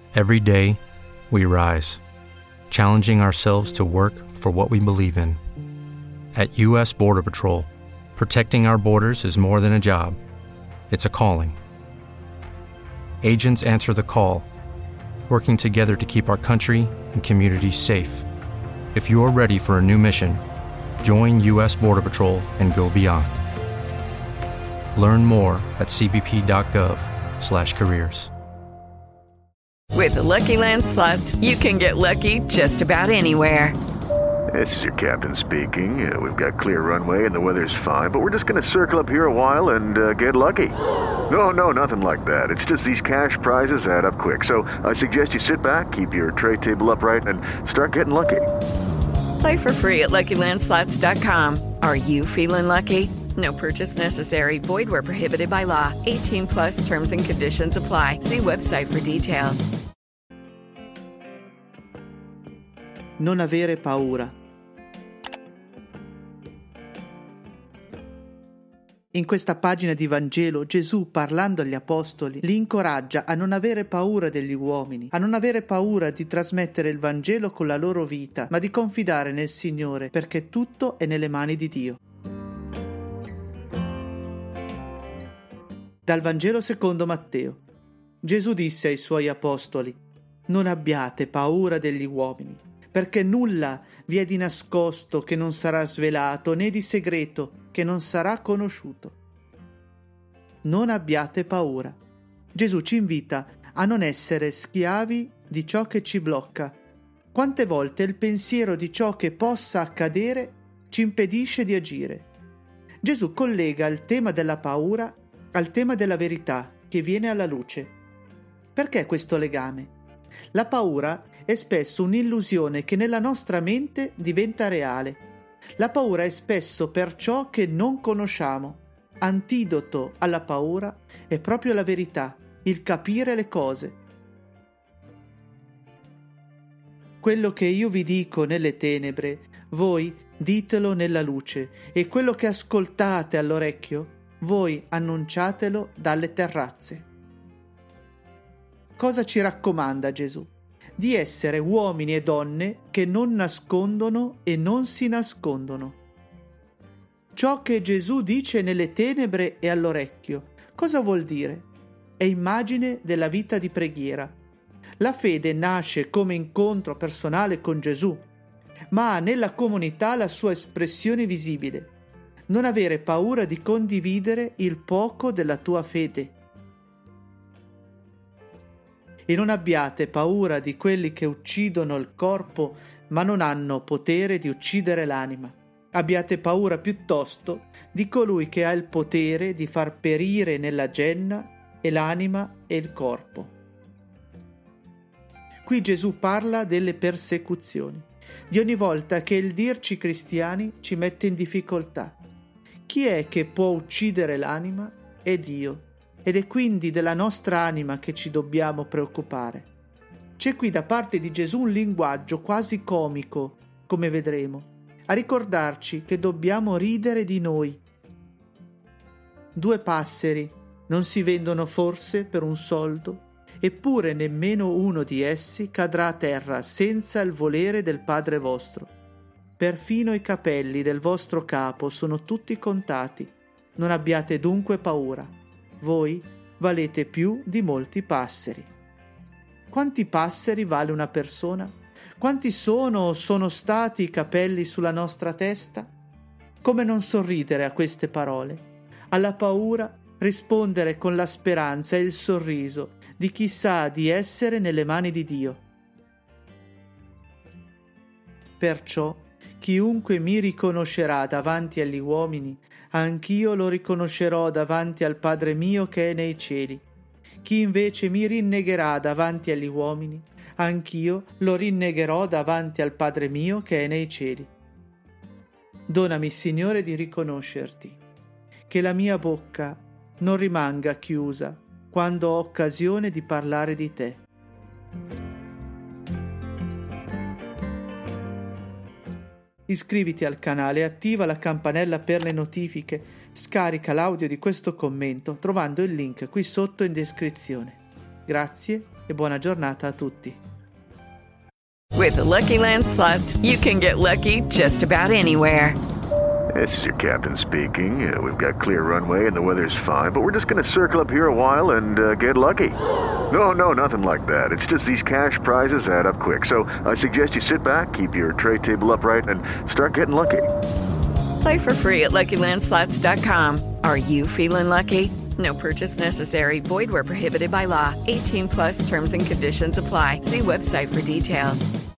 Every day, we rise, challenging ourselves to work for what we believe in. At U.S. Border Patrol, protecting our borders is more than a job. It's a calling. Agents answer the call, working together to keep our country and communities safe. If you're ready for a new mission, join U.S. Border Patrol and go beyond. Learn more at cbp.gov/careers. With the Lucky Land Slots, you can get lucky just about anywhere. This is your captain speaking. We've got clear runway and the weather's fine, but we're just going to circle up here a while and get lucky. No, nothing like that. It's just these cash prizes add up quick. So I suggest you sit back, keep your tray table upright, and start getting lucky. Play for free at LuckyLandSlots.com. Are you feeling lucky? No purchase necessary. Void where prohibited by law. 18+ terms and conditions apply. See website for details. Non avere paura. In questa pagina di Vangelo Gesù, parlando agli apostoli, li incoraggia a non avere paura degli uomini, a non avere paura di trasmettere il Vangelo con la loro vita, ma di confidare nel Signore, perché tutto è nelle mani di Dio. Dal Vangelo secondo Matteo. Gesù disse ai suoi apostoli: non abbiate paura degli uomini, perché nulla vi è di nascosto che non sarà svelato, né di segreto che non sarà conosciuto. Non abbiate paura. Gesù ci invita a non essere schiavi di ciò che ci blocca. Quante volte il pensiero di ciò che possa accadere ci impedisce di agire. Gesù collega il tema della paura al tema della verità che viene alla luce. Perché questo legame? La paura è spesso un'illusione che nella nostra mente diventa reale. La paura è spesso per ciò che non conosciamo. Antidoto alla paura è proprio la verità, il capire le cose. Quello che io vi dico nelle tenebre, voi ditelo nella luce, e quello che ascoltate all'orecchio, voi annunciatelo dalle terrazze. Cosa ci raccomanda Gesù? Di essere uomini e donne che non nascondono e non si nascondono. Ciò che Gesù dice nelle tenebre e all'orecchio, cosa vuol dire? È immagine della vita di preghiera. La fede nasce come incontro personale con Gesù, ma ha nella comunità la sua espressione visibile. Non avere paura di condividere il poco della tua fede. E non abbiate paura di quelli che uccidono il corpo, ma non hanno potere di uccidere l'anima. Abbiate paura piuttosto di colui che ha il potere di far perire nella genna e l'anima e il corpo. Qui Gesù parla delle persecuzioni, di ogni volta che il dirci cristiani ci mette in difficoltà. Chi è che può uccidere l'anima? È Dio. Ed è quindi della nostra anima che ci dobbiamo preoccupare. C'è qui da parte di Gesù un linguaggio quasi comico, come vedremo, a ricordarci che dobbiamo ridere di noi. 2 passeri non si vendono forse per un soldo? Eppure nemmeno uno di essi cadrà a terra senza il volere del Padre vostro. Perfino i capelli del vostro capo sono tutti contati. Non abbiate dunque paura. Voi valete più di molti passeri. Quanti passeri vale una persona? Quanti sono stati i capelli sulla nostra testa? Come non sorridere a queste parole? Alla paura rispondere con la speranza e il sorriso di chi sa di essere nelle mani di Dio. Perciò chiunque mi riconoscerà davanti agli uomini, anch'io lo riconoscerò davanti al Padre mio che è nei cieli. Chi invece mi rinnegherà davanti agli uomini, anch'io lo rinnegherò davanti al Padre mio che è nei cieli. Donami, Signore, di riconoscerti, che la mia bocca non rimanga chiusa quando ho occasione di parlare di te. Iscriviti al canale e attiva la campanella per le notifiche. Scarica l'audio di questo commento trovando il link qui sotto in descrizione. Grazie e buona giornata a tutti. With the Lucky Land Slots, you can get lucky just about anywhere. This is your captain speaking. We've got clear runway and the weather's fine, but we're just going to circle up here a while and get lucky. No, nothing like that. It's just these cash prizes add up quick. So I suggest you sit back, keep your tray table upright, and start getting lucky. Play for free at LuckyLandSlots.com. Are you feeling lucky? No purchase necessary. Void where prohibited by law. 18+ terms and conditions apply. See website for details.